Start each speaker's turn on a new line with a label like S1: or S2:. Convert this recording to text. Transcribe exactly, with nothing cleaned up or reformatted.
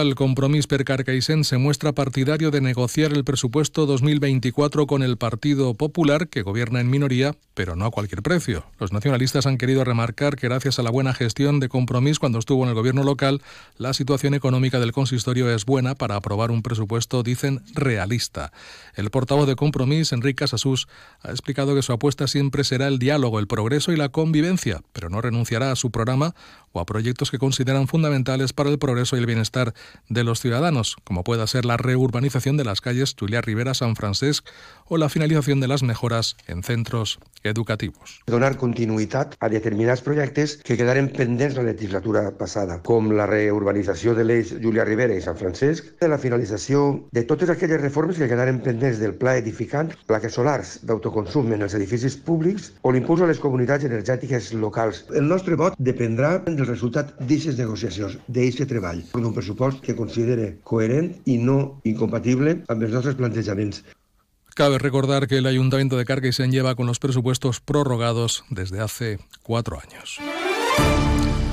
S1: municipal Compromís per Carcaixent se muestra partidario de negociar el presupuesto dos mil veinticuatro con el Partido Popular, que gobierna en minoría, pero no a cualquier precio. Los nacionalistas han querido remarcar que gracias a la buena gestión de Compromís cuando estuvo en el gobierno local, la situación económica del consistorio es buena para aprobar un presupuesto, dicen, realista. El portavoz de Compromís, Enric Casassús, ha explicado que su apuesta siempre será el diálogo, el progreso y la convivencia, pero no renunciará a su programa o a proyectos que consideran fundamentales para el progreso y el bienestar de los ciudadanos, como pueda ser la reurbanización de las calles Julià Ribera, Sant Francesc o la finalització de les mejoras en centros educativos.
S2: Donar continuïtat a determinats projectes que quedaren pendents la legislatura passada, com la reurbanització de l'eix Julià Ribera i Sant Francesc, de la finalització de totes aquelles reformes que quedaren pendents del pla edificant, plaques solars d'autoconsum en els edificis públics o l'impuls a les comunitats energètiques locals. El nostre vot dependrà del resultat d'aquestes negociacions, d'aquest treball, d'un pressupost que considere coherent i no incompatible amb els nostres plantejaments.
S1: Cabe recordar que el Ayuntamiento de Carcaixent lleva con los presupuestos prorrogados desde hace cuatro años.